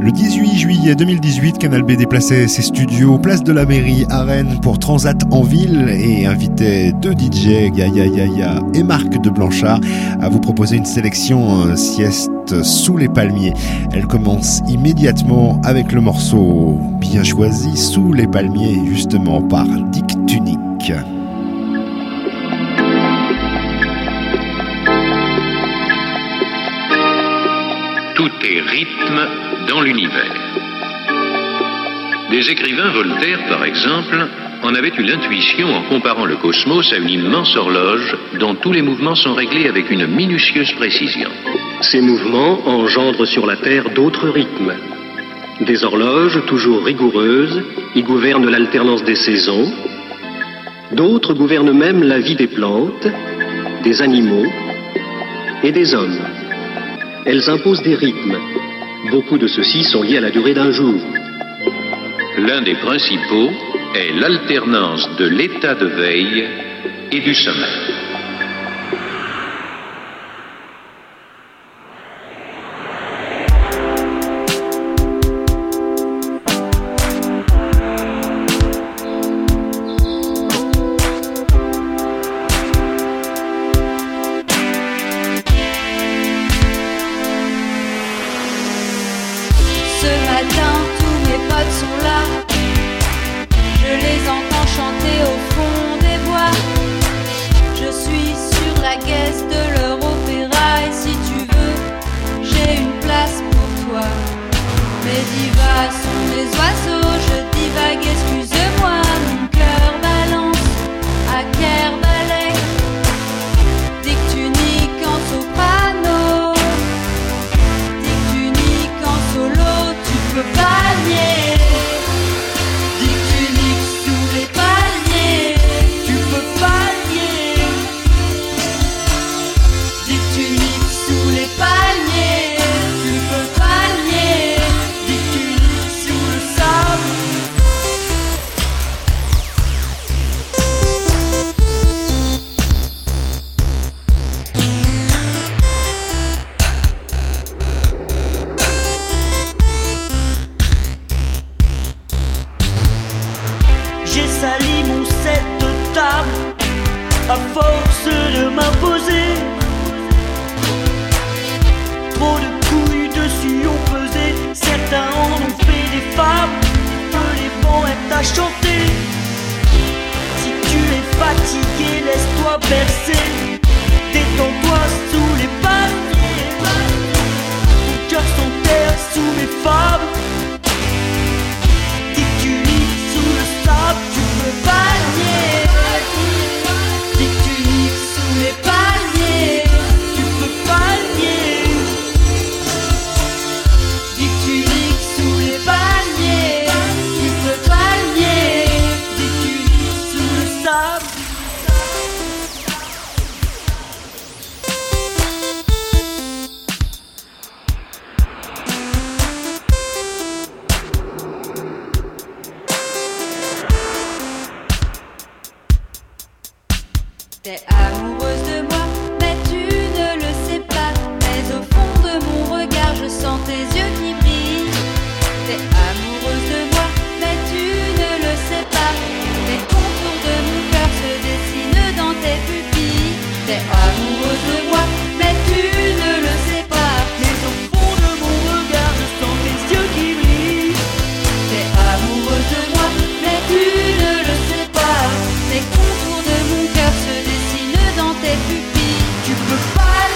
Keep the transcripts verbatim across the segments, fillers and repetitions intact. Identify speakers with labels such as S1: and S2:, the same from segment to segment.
S1: Le dix-huit juillet deux mille dix-huit, Canal B déplaçait ses studios place de la Mairie à Rennes pour Transat en ville et invitait deux D J, Gaia Yaya et Marc de Blanchard, à vous proposer une sélection sieste sous les palmiers. Elle commence immédiatement avec le morceau bien choisi, Sous les palmiers, justement par Dick Tunic.
S2: Tout est rythme dans l'univers. Des écrivains, Voltaire par exemple, en avaient eu l'intuition en comparant le cosmos à une immense horloge dont tous les mouvements sont réglés avec une minutieuse précision.
S3: Ces mouvements engendrent sur la Terre d'autres rythmes. Des horloges toujours rigoureuses y gouvernent l'alternance des saisons. D'autres gouvernent même la vie des plantes, des animaux et des hommes. Elles imposent des rythmes. Beaucoup de ceux-ci sont liés à la durée d'un jour.
S2: L'un des principaux est l'alternance de l'état de veille et du sommeil.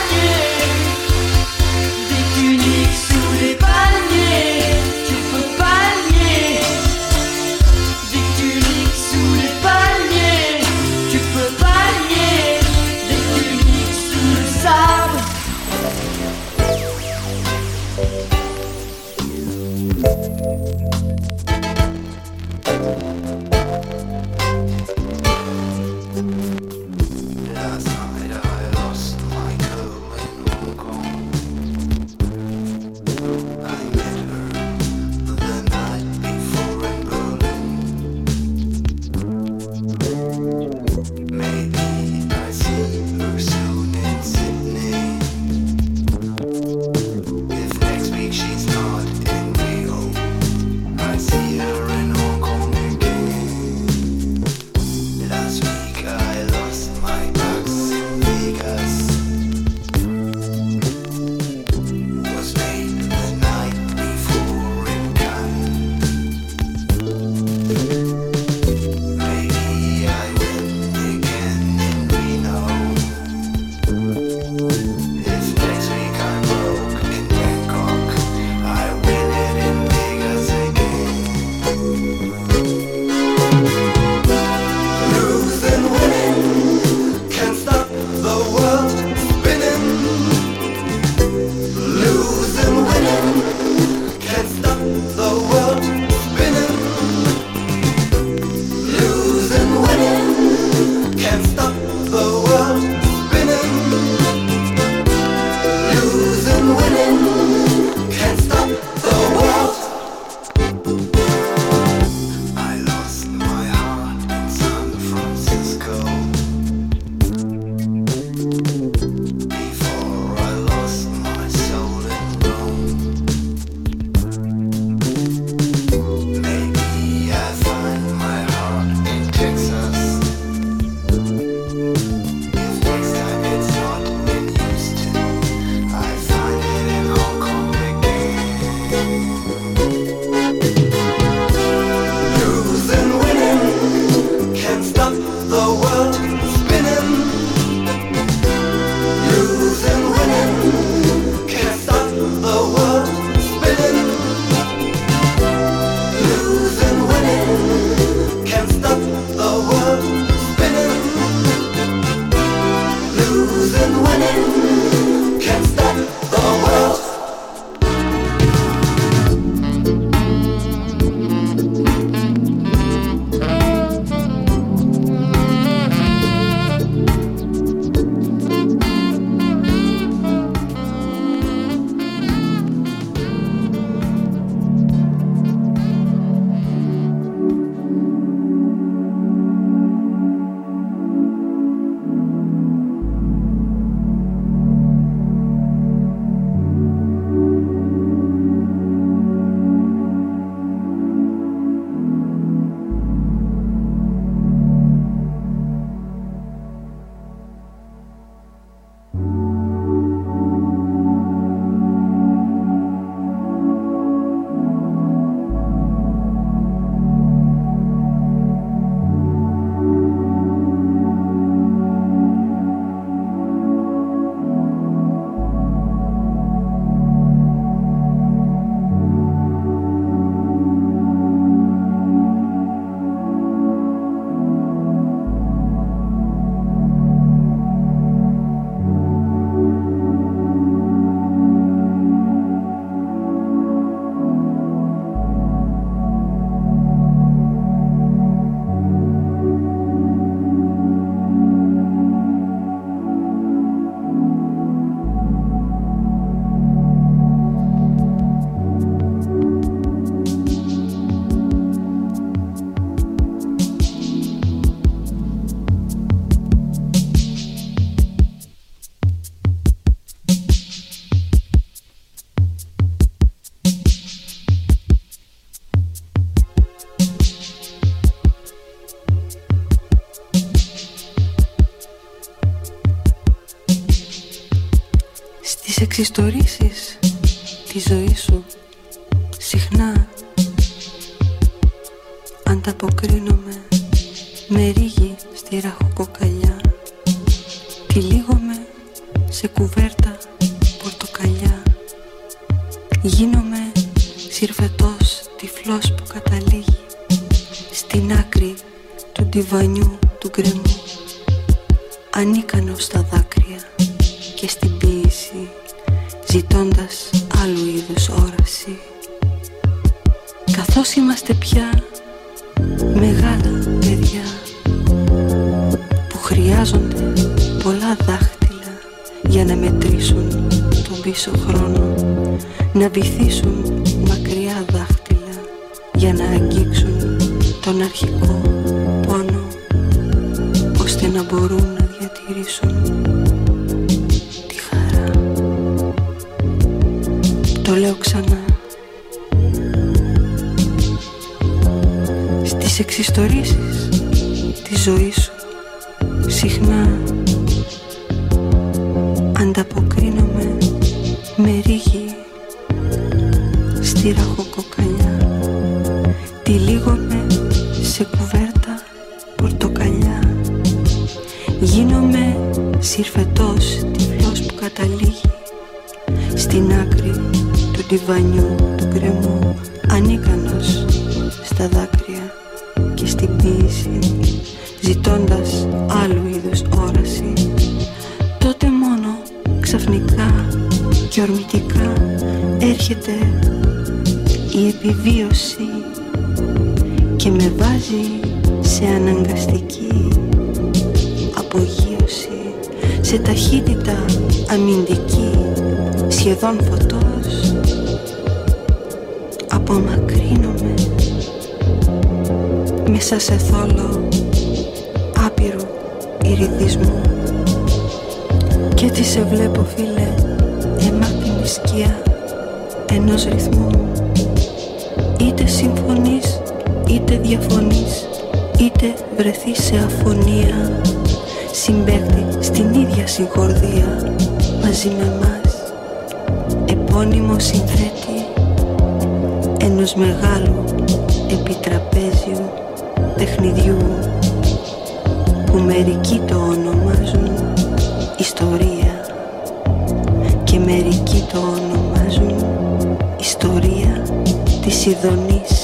S4: Sous les palmiers, tu peux pas εξιστορήσεις τη ζωή σου συχνά ανταποκρίνομαι με ρίγη στη ραχοκοκαλιά. Τυλίγομαι σε κουβέρτα πορτοκαλιά. Γίνομαι συρφετός τυφλός που καταλήγει στην άκρη του ντιβανιού του γκρεμού, ανίκανος στα δάκρυα και στην ποίηση, ζητώντας άλλου είδους όραση. Καθώς είμαστε πια μεγάλα παιδιά που χρειάζονται πολλά δάχτυλα για να μετρήσουν τον πίσω χρόνο, να βυθίσουν μακριά δάχτυλα για να αγγίξουν τον αρχικό πόνο, ώστε να μπορούν να διατηρήσουν τη χαρά. Το λέω ξανά. Στις εξιστορήσεις της ζωής σου συχνά ανταποκρίνομαι με ρίγη στη ραχοκοκαλιά. Τυλίγομαι σε κουβέρτα πορτοκαλιά. Γίνομαι συρφετός τυφλός που καταλήγει στην άκρη του ντιβανιού του γκρεμού, ανίκανος στα δάκρυα και στην ποίηση, ζητώντας άλλου είδους όραση. Τότε μόνο ξαφνικά και ορμητικά έρχεται η επιβίωση και με βάζει σε αναγκαστική απογείωση, σε ταχύτητα αμυντική, σχεδόν φωτός. Απομακρύνομαι μέσα σε θόλο άπειρου ηριδισμού κι έτσι σε βλέπω, φίλε, αιμάτινη σκιά ενός ρυθμού. Είτε συμφωνείς είτε διαφωνείς, είτε βρεθείς σε αφωνία, συμπαίκτη στην ίδια συγχορδία μαζί με μας, επώνυμο συνθέτη ενός μεγάλου επιτραπέζιου τεχνιδιού που μερικοί το ονομάζουν ιστορία και μερικοί το ονομάζουν ιστορία της ειδονής.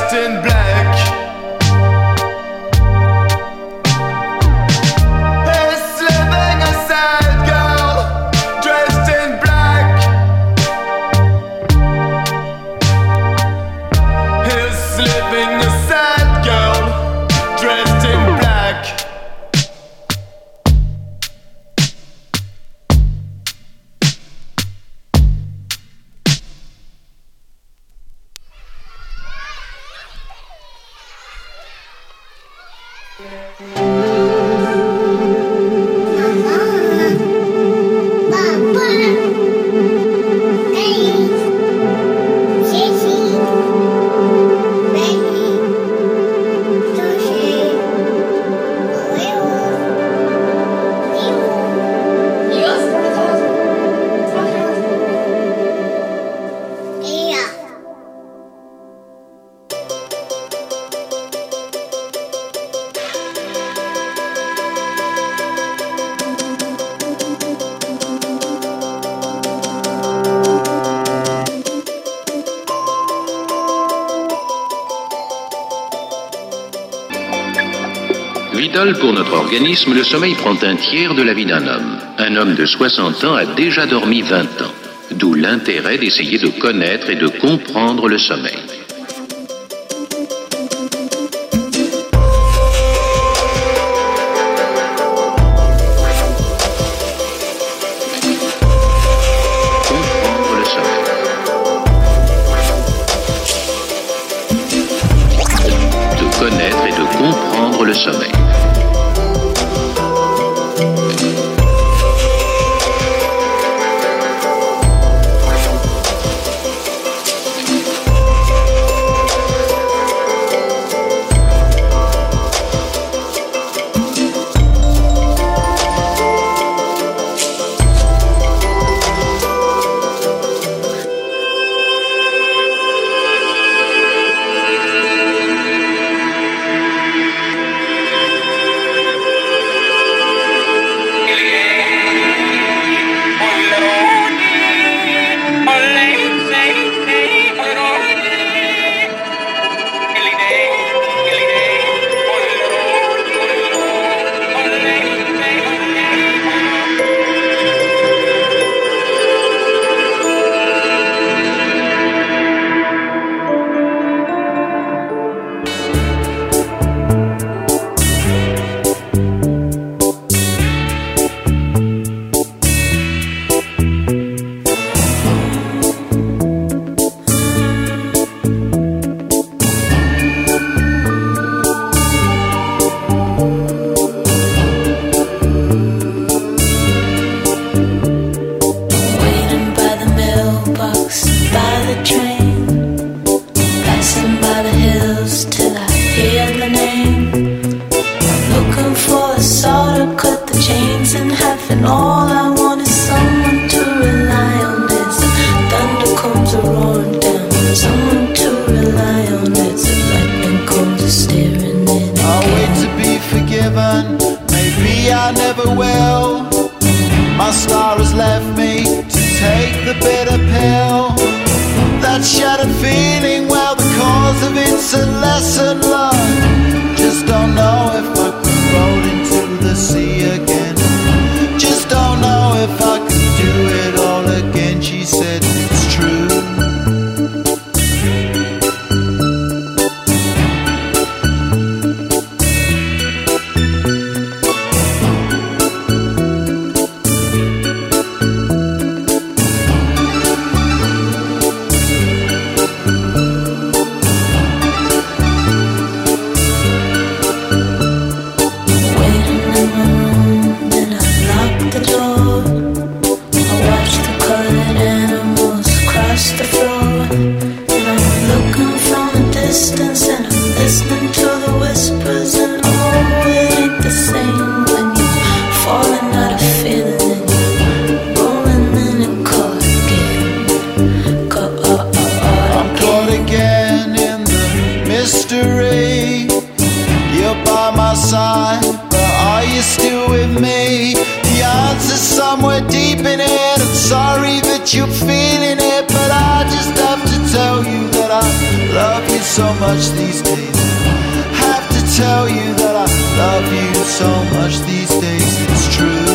S5: dressed in black. He's living a sad girl, dressed in black. He's living a sad girl, dressed in black.
S2: Vital pour notre organisme, le sommeil prend un tiers de la vie d'un homme. Un homme de soixante ans a déjà dormi vingt ans. D'où l'intérêt d'essayer de connaître et de comprendre le sommeil. Comprendre le sommeil. De connaître et de comprendre le sommeil.
S5: Sorry that you're feeling it, but I just have to tell you that I love you so much these days. Have to tell you that I love you so much these days. It's true.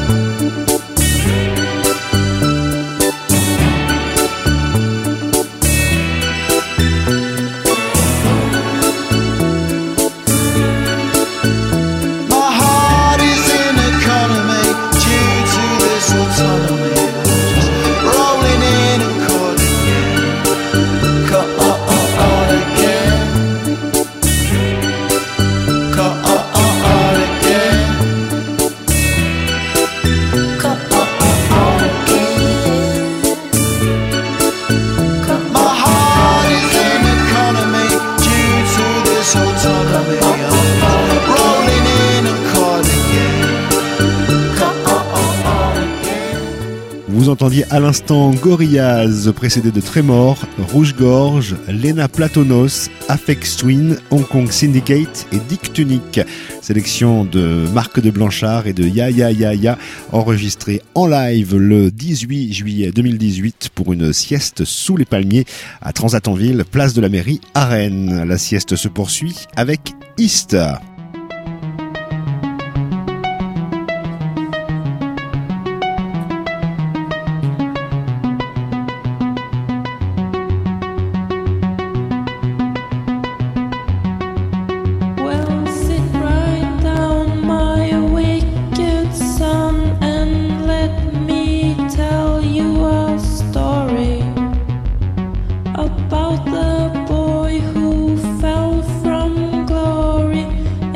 S1: Vous entendiez à l'instant Gorillaz, précédé de Trémor, Rouge-Gorge, Lena Platonos, Aphex Twin, Hong Kong Syndicate et Dick Tunic. Sélection de Marc de Blanchard et de Ya Ya Ya Ya, enregistrée en live le dix-huit juillet deux mille dix-huit pour une sieste sous les palmiers à Transat-en-Ville, place de la mairie à Rennes. La sieste se poursuit avec East.
S6: About the boy who fell from glory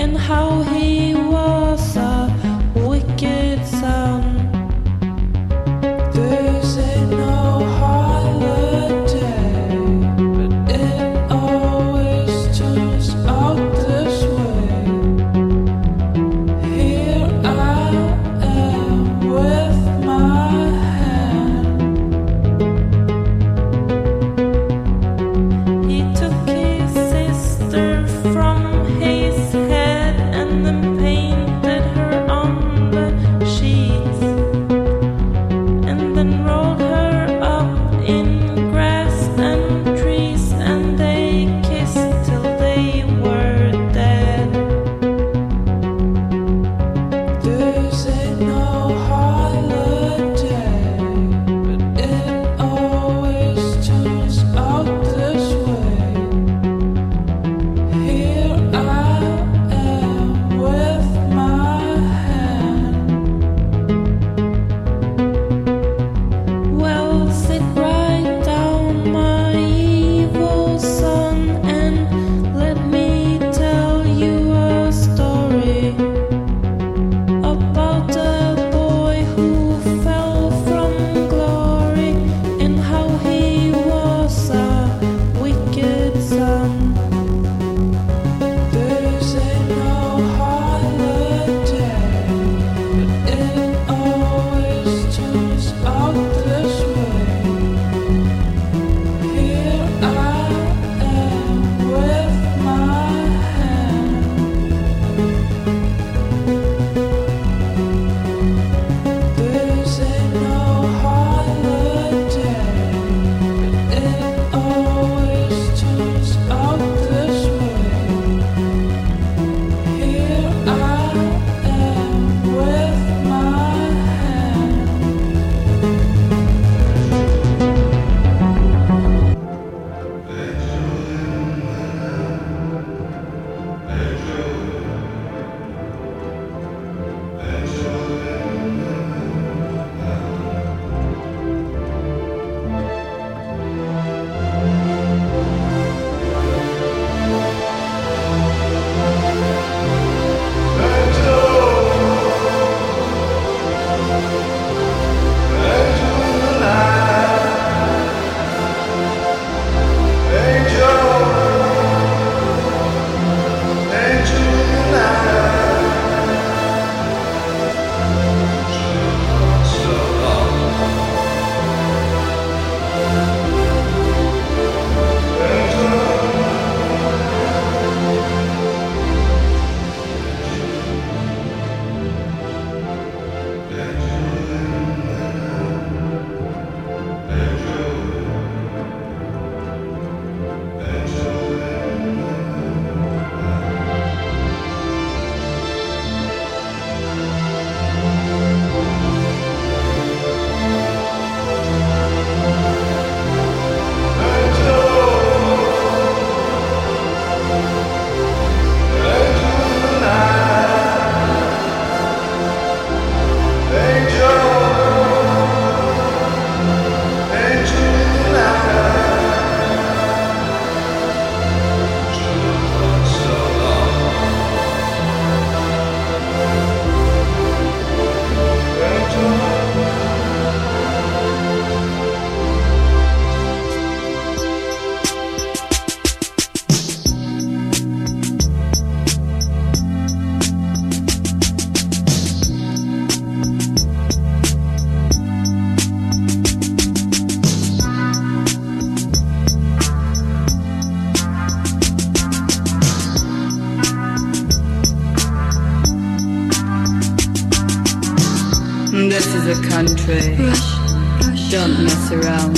S6: is a country. Don't mess around.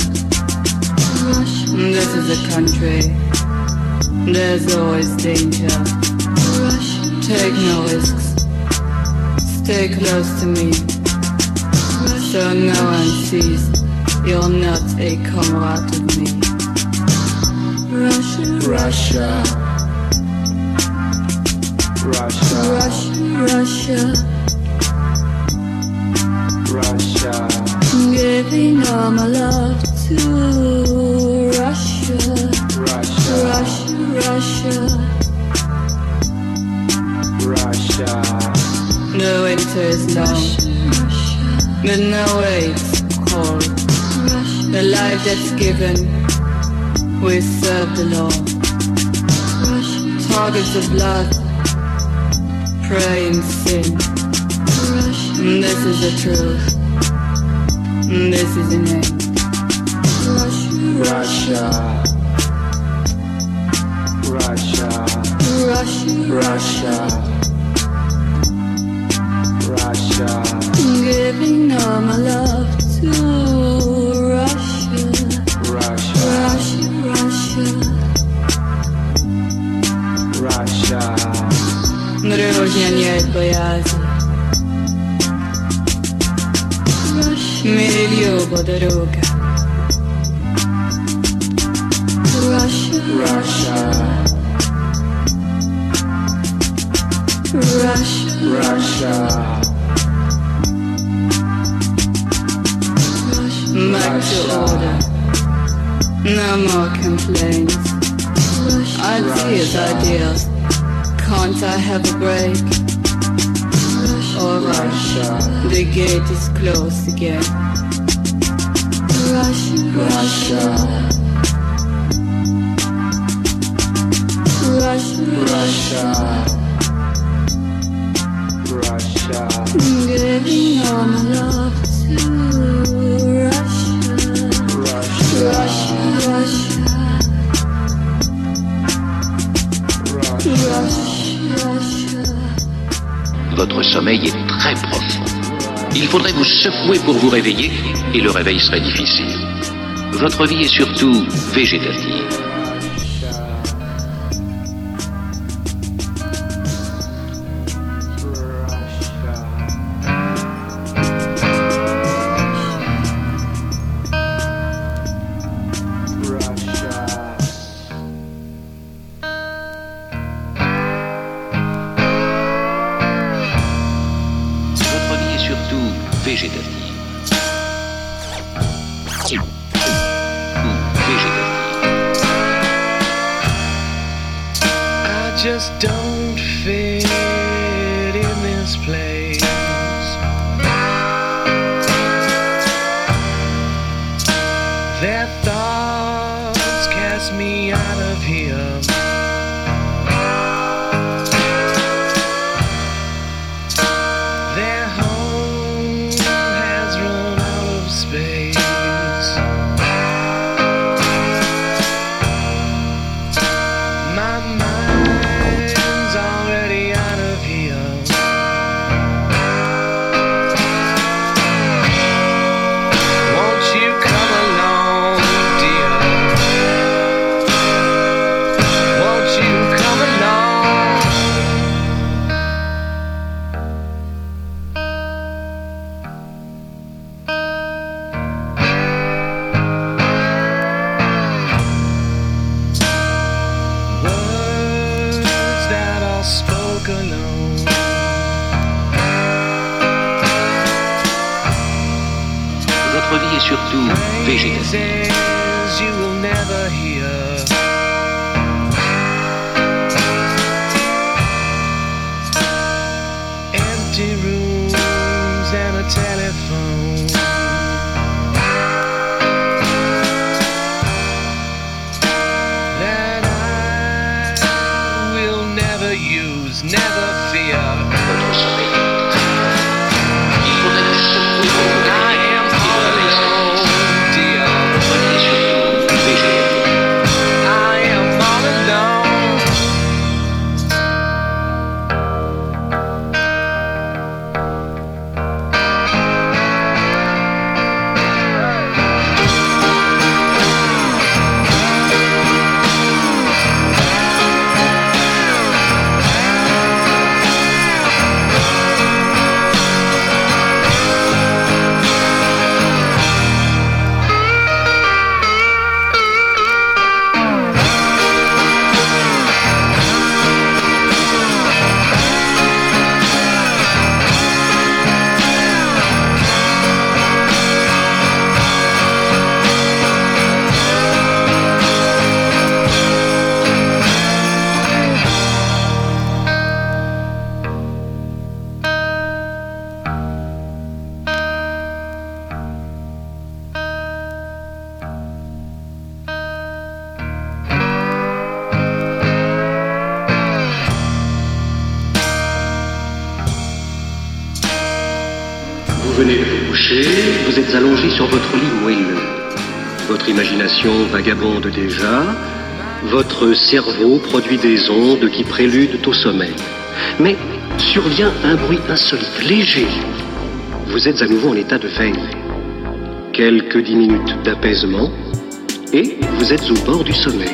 S6: This is a country. There's always danger. Take no risks. Stay close to me, so no one sees you're not a comrade of me. Russia, Russia, Russia, Russia, Russia, Russia. Giving all my love to Russia, Russia, Russia, Russia, Russia. The winter is long, but no way it's cold. The life that's given, we serve the law. Targets of blood, pray in sin. This is the truth. This is the name. Russia, Russia, Russia, Russia, Russia. Giving all my love to Russia, Russia, Russia, Russia, Russia. Дружня нет боязни. Милью подруга. Russia, Russia, Russia, Russia, back to order. No more complaints. Ideas, ideas. Can't I have a break? Alright, the gate is closed again. Russia, Russia, Russia, Russia, Russia. Giving all my love to Russia, Russia, Russia, Russia, Russia.
S2: Votre sommeil est très profond. Il faudrait vous secouer pour vous réveiller et le réveil serait difficile. Votre vie est surtout végétative.
S3: venez de vous coucher, vous êtes allongé sur votre lit moelleux. Votre imagination vagabonde déjà, votre cerveau produit des ondes qui préludent au sommeil. Mais survient un bruit insolite, léger. Vous êtes à nouveau en état de veille. Quelques dix minutes d'apaisement et vous êtes au bord du sommeil.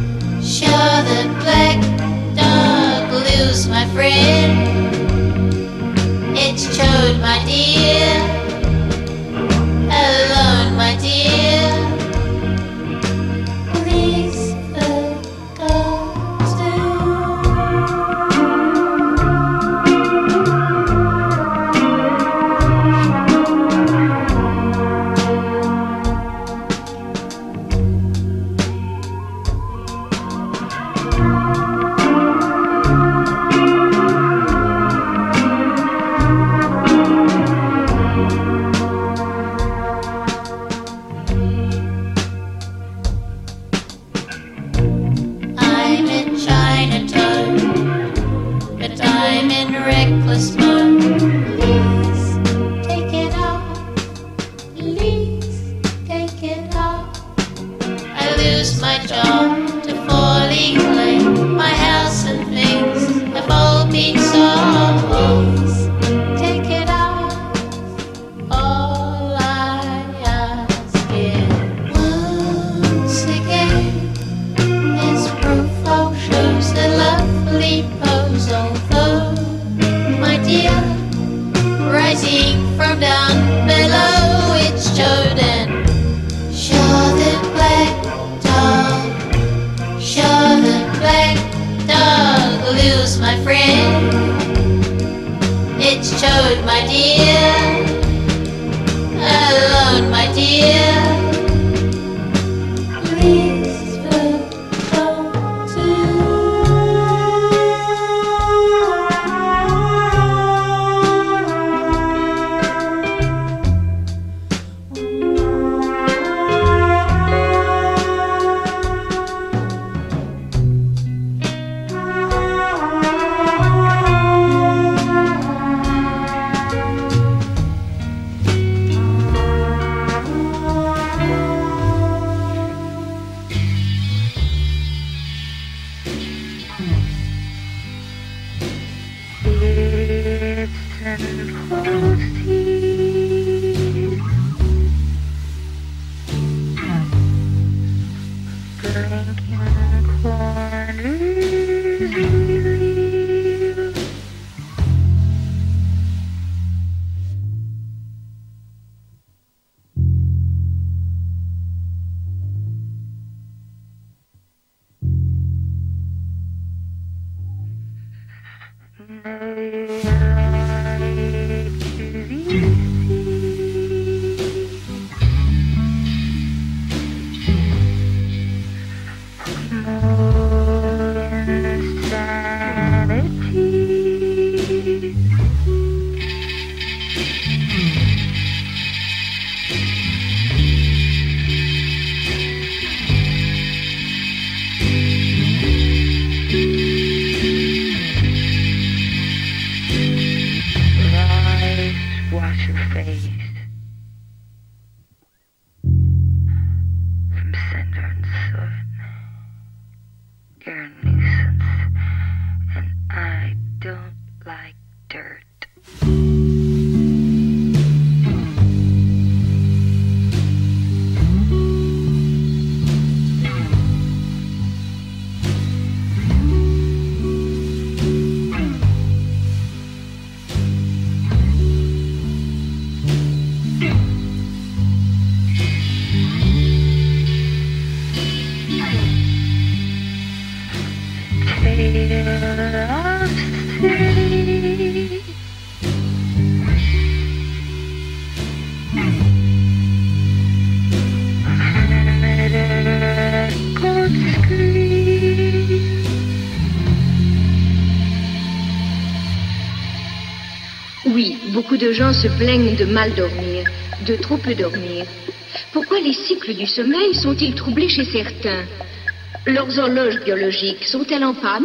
S7: my friend. China toad, but I'm in reckless mode. Please take it off, please take it off. I lose my job to falling clay. My house and things have all been sold. Take it off, all I ask is once again. This profile shows a lovely pose, although, my dear, rising from down below, it's showed and show the black dog, show the black dog loose, my friend. It's showed, my dear, alone, my dear. Please go to.
S8: Oui, beaucoup de gens se plaignent de mal dormir, de trop peu dormir. Pourquoi les cycles du sommeil sont-ils troublés chez certains? Leurs horloges biologiques sont-elles en panne?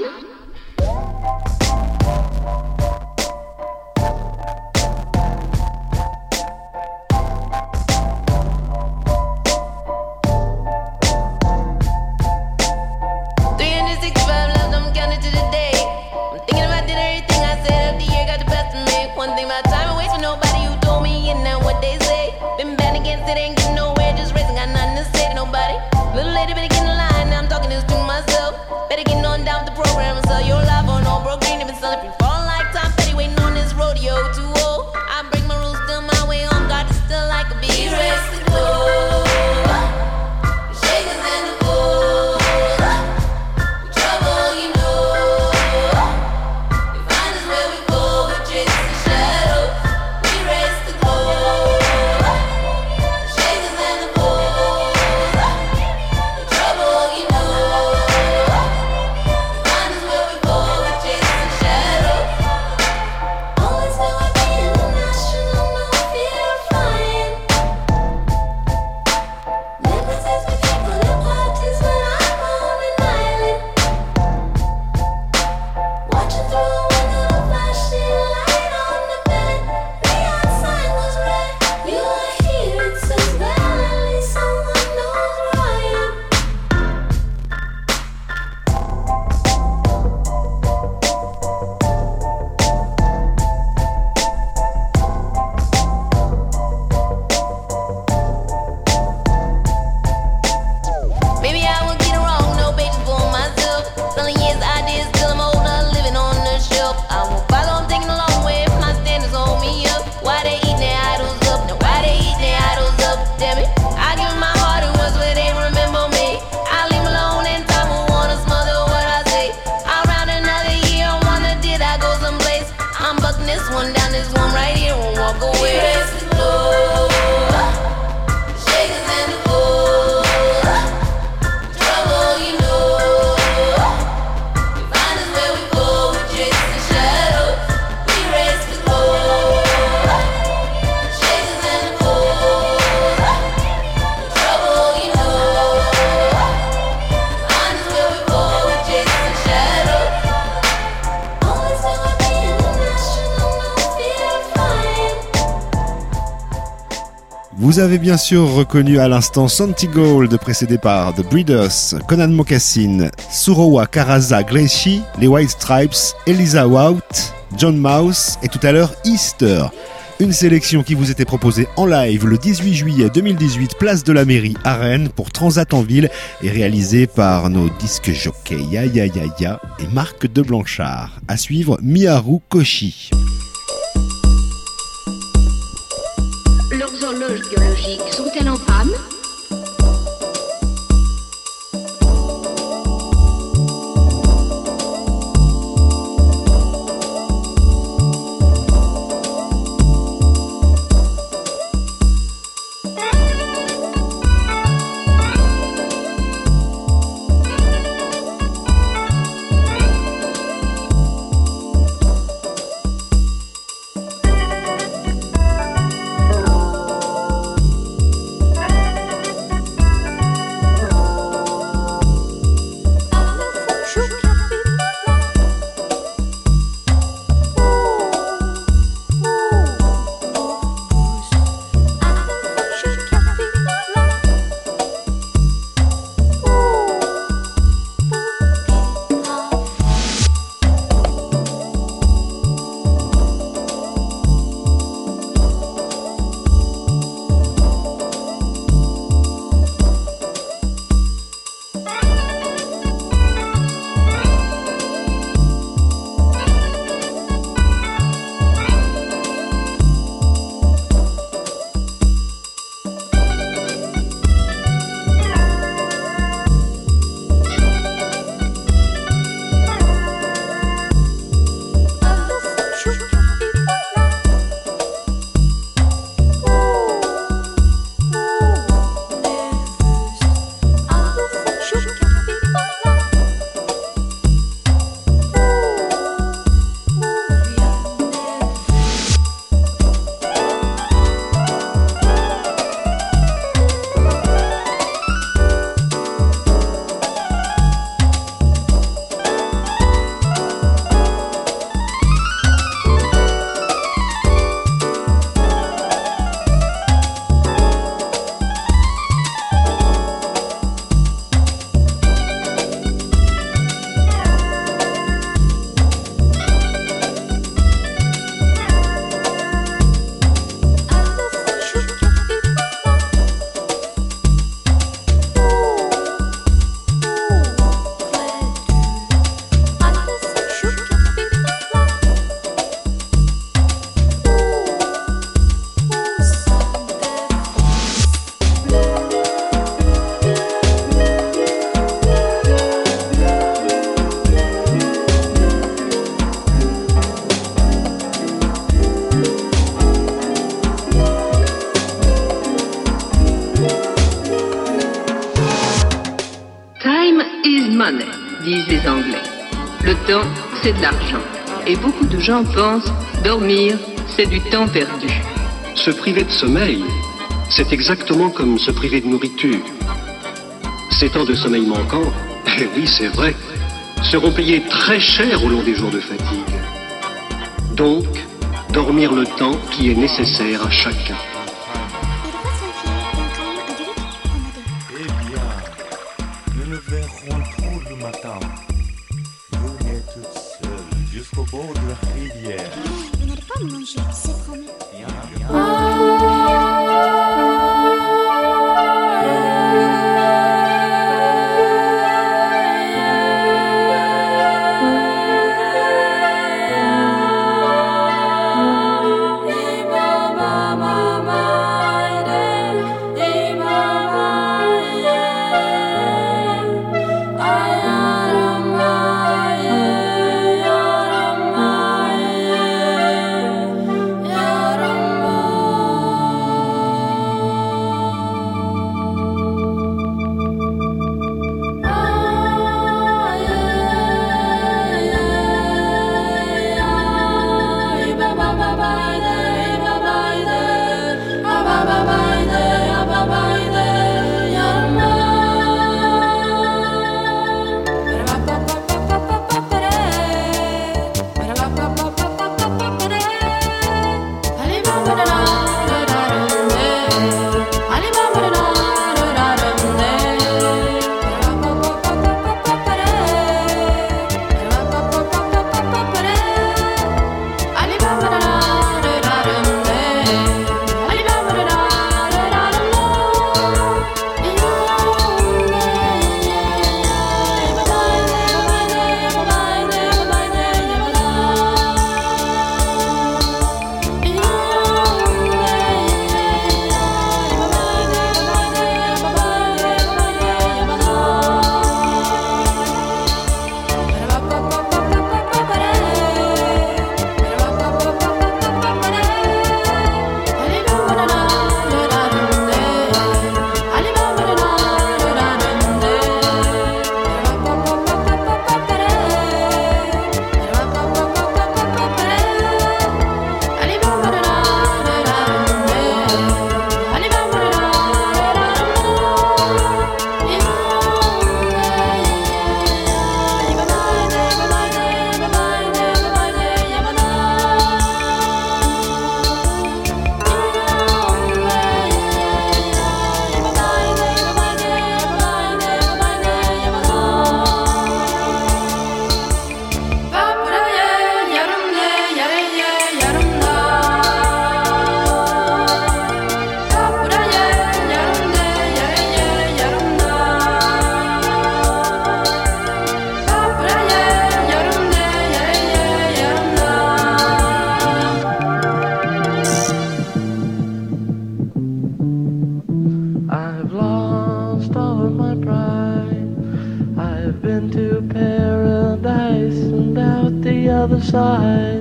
S7: Trouble
S1: Vous avez bien sûr reconnu à l'instant Santi Gold, précédé par The Breeders, Conan Moccasin, Surowa Karaza Gleishi, les White Stripes, Eliza Wout, John Mouse et tout à l'heure Easter. Une sélection qui vous était proposée en live le dix-huit juillet deux mille dix-huit, place de la mairie à Rennes pour Transat en ville et réalisée par nos disques jockeys Ya Ya Ya Ya et Marc de Blanchard. À suivre, Miharu Koshi.
S8: Leurs horloges biologiques sont-elles en panne ?
S9: disent les Anglais. Le temps, c'est de l'argent. Et beaucoup de gens pensent dormir, c'est du temps perdu.
S3: Se priver de sommeil, c'est exactement comme se priver de nourriture. Ces temps de sommeil manquants, eh oui, c'est vrai, seront payés très cher au long des jours de fatigue. Donc, dormir le temps qui est nécessaire à chacun.
S10: Eh bien, nous nous verrons tôt le matin. Vous êtes toute seule jusqu'au bord de la rivière.
S7: Vous n'allez pas me manger, c'est promis.
S10: Bien, bien.
S7: Yeah.
S11: to paradise and out the other side,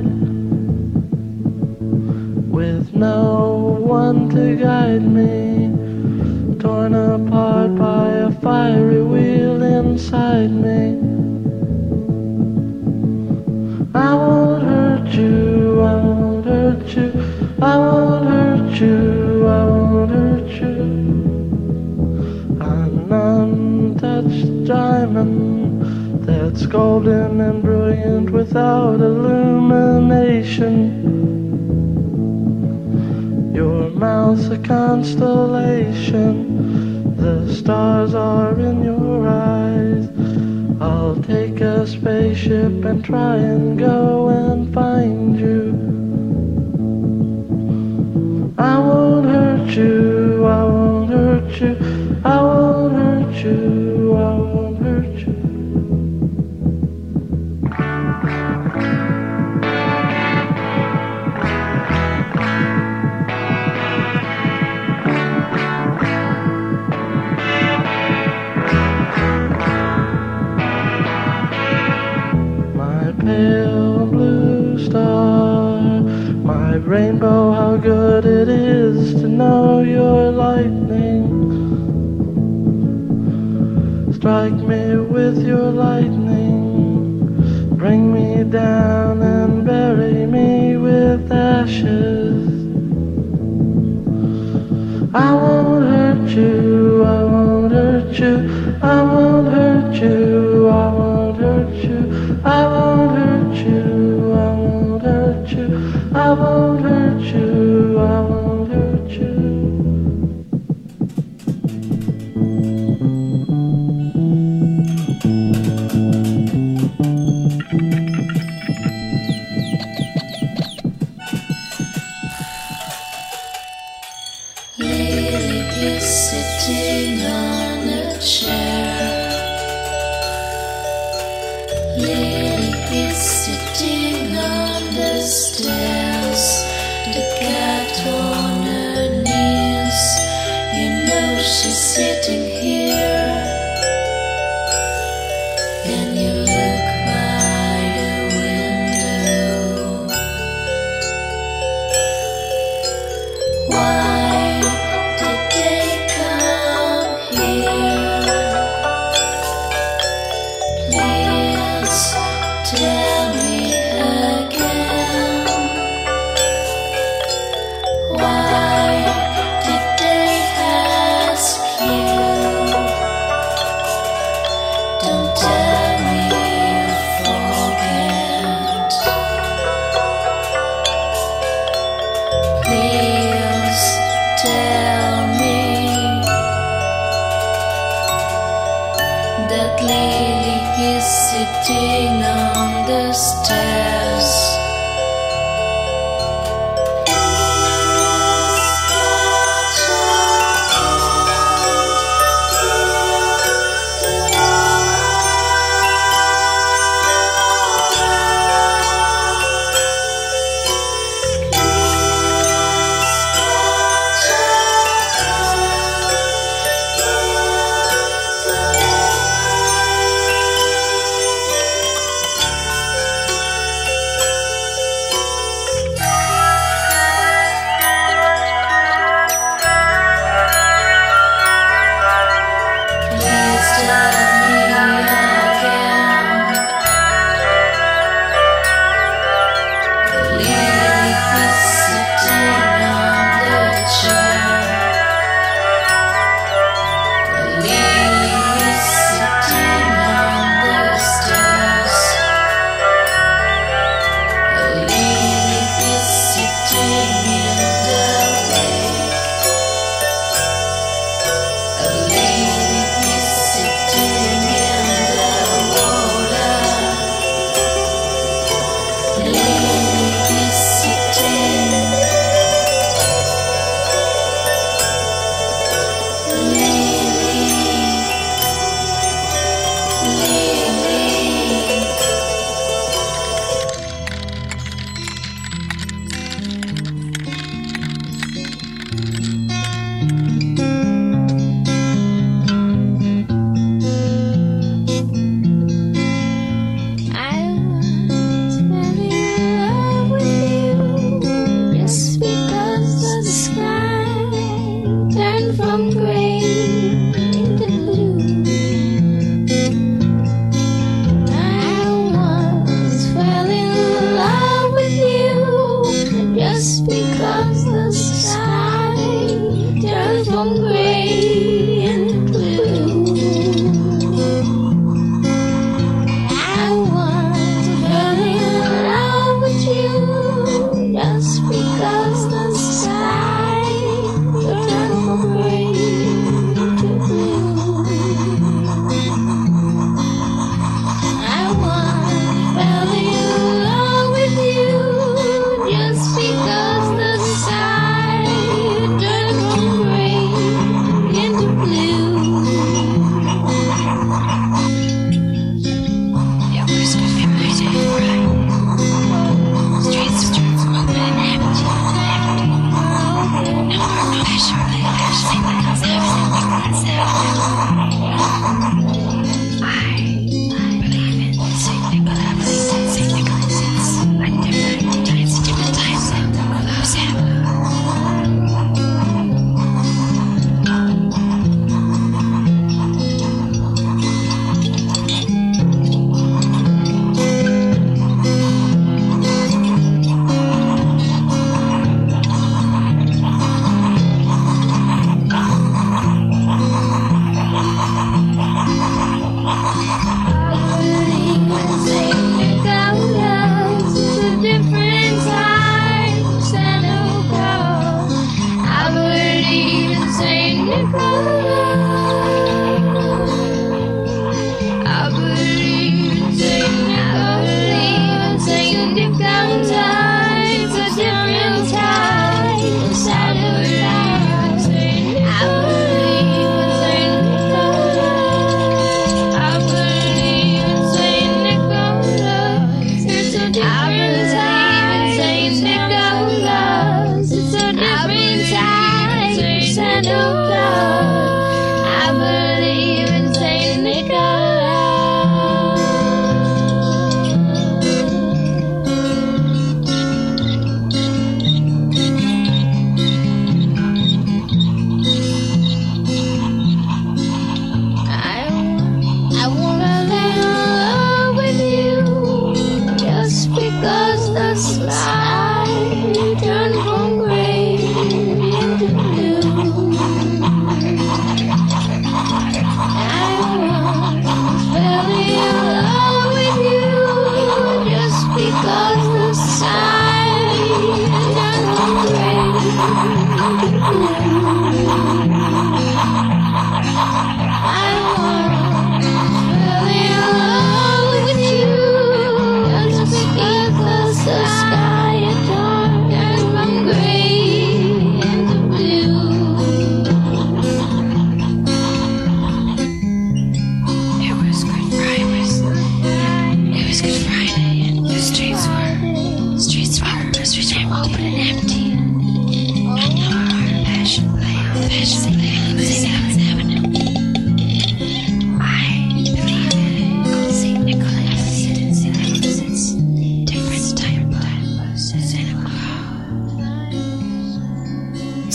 S11: with no one to guide me, torn apart by a fiery wheel inside me. I won't hurt you, I won't hurt you, I won't hurt you, I won't hurt you. I'm an untouched diamond that's golden and brilliant without illumination. Your mouth's a constellation, the stars are in your eyes. I'll take a spaceship and try and go and find you. I won't hurt you, I won't hurt you, I won't hurt you, I won't hurt you. Pale blue star, my rainbow, how good it is to know your lightning. Strike me with your lightning, bring me down and bury me with ashes. I won't hurt you, I won't hurt you, I won't hurt you, I won't hurt you, I won't hurt you, I won't hurt you, I won't hurt you, I won't hurt you.
S12: Lily is sitting on a chair. Lily is sitting on the stairs. The cat on her knees. You know she's sitting here. And you look by the window. Why did they come here? Please tell me again. Why did they ask you? Don't tell me you forget. Please tell me that Lily is sitting on the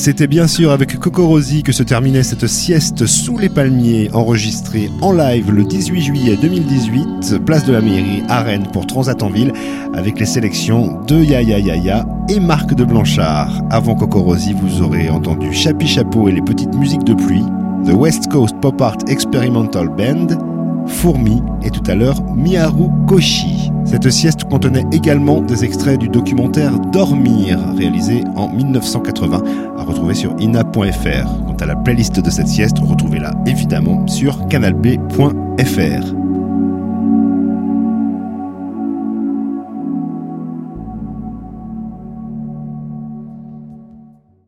S1: C'était bien sûr avec Coco Rosie que se terminait cette sieste sous les palmiers, enregistrée en live le dix-huit juillet deux mille dix-huit, place de la Mairie à Rennes pour Transat en ville, avec les sélections de Ya Ya Ya Ya et Marc de Blanchard. Avant Coco Rosie, vous aurez entendu Chapi Chapeau et les petites musiques de pluie, The West Coast Pop Art Experimental Band, Fourmi et tout à l'heure Miharu Koshi. Cette sieste contenait également des extraits du documentaire Dormir, réalisé en dix-neuf cent quatre-vingts, à retrouver sur ina point f r. Quant à la playlist de cette sieste, retrouvez-la évidemment sur canal b point f r.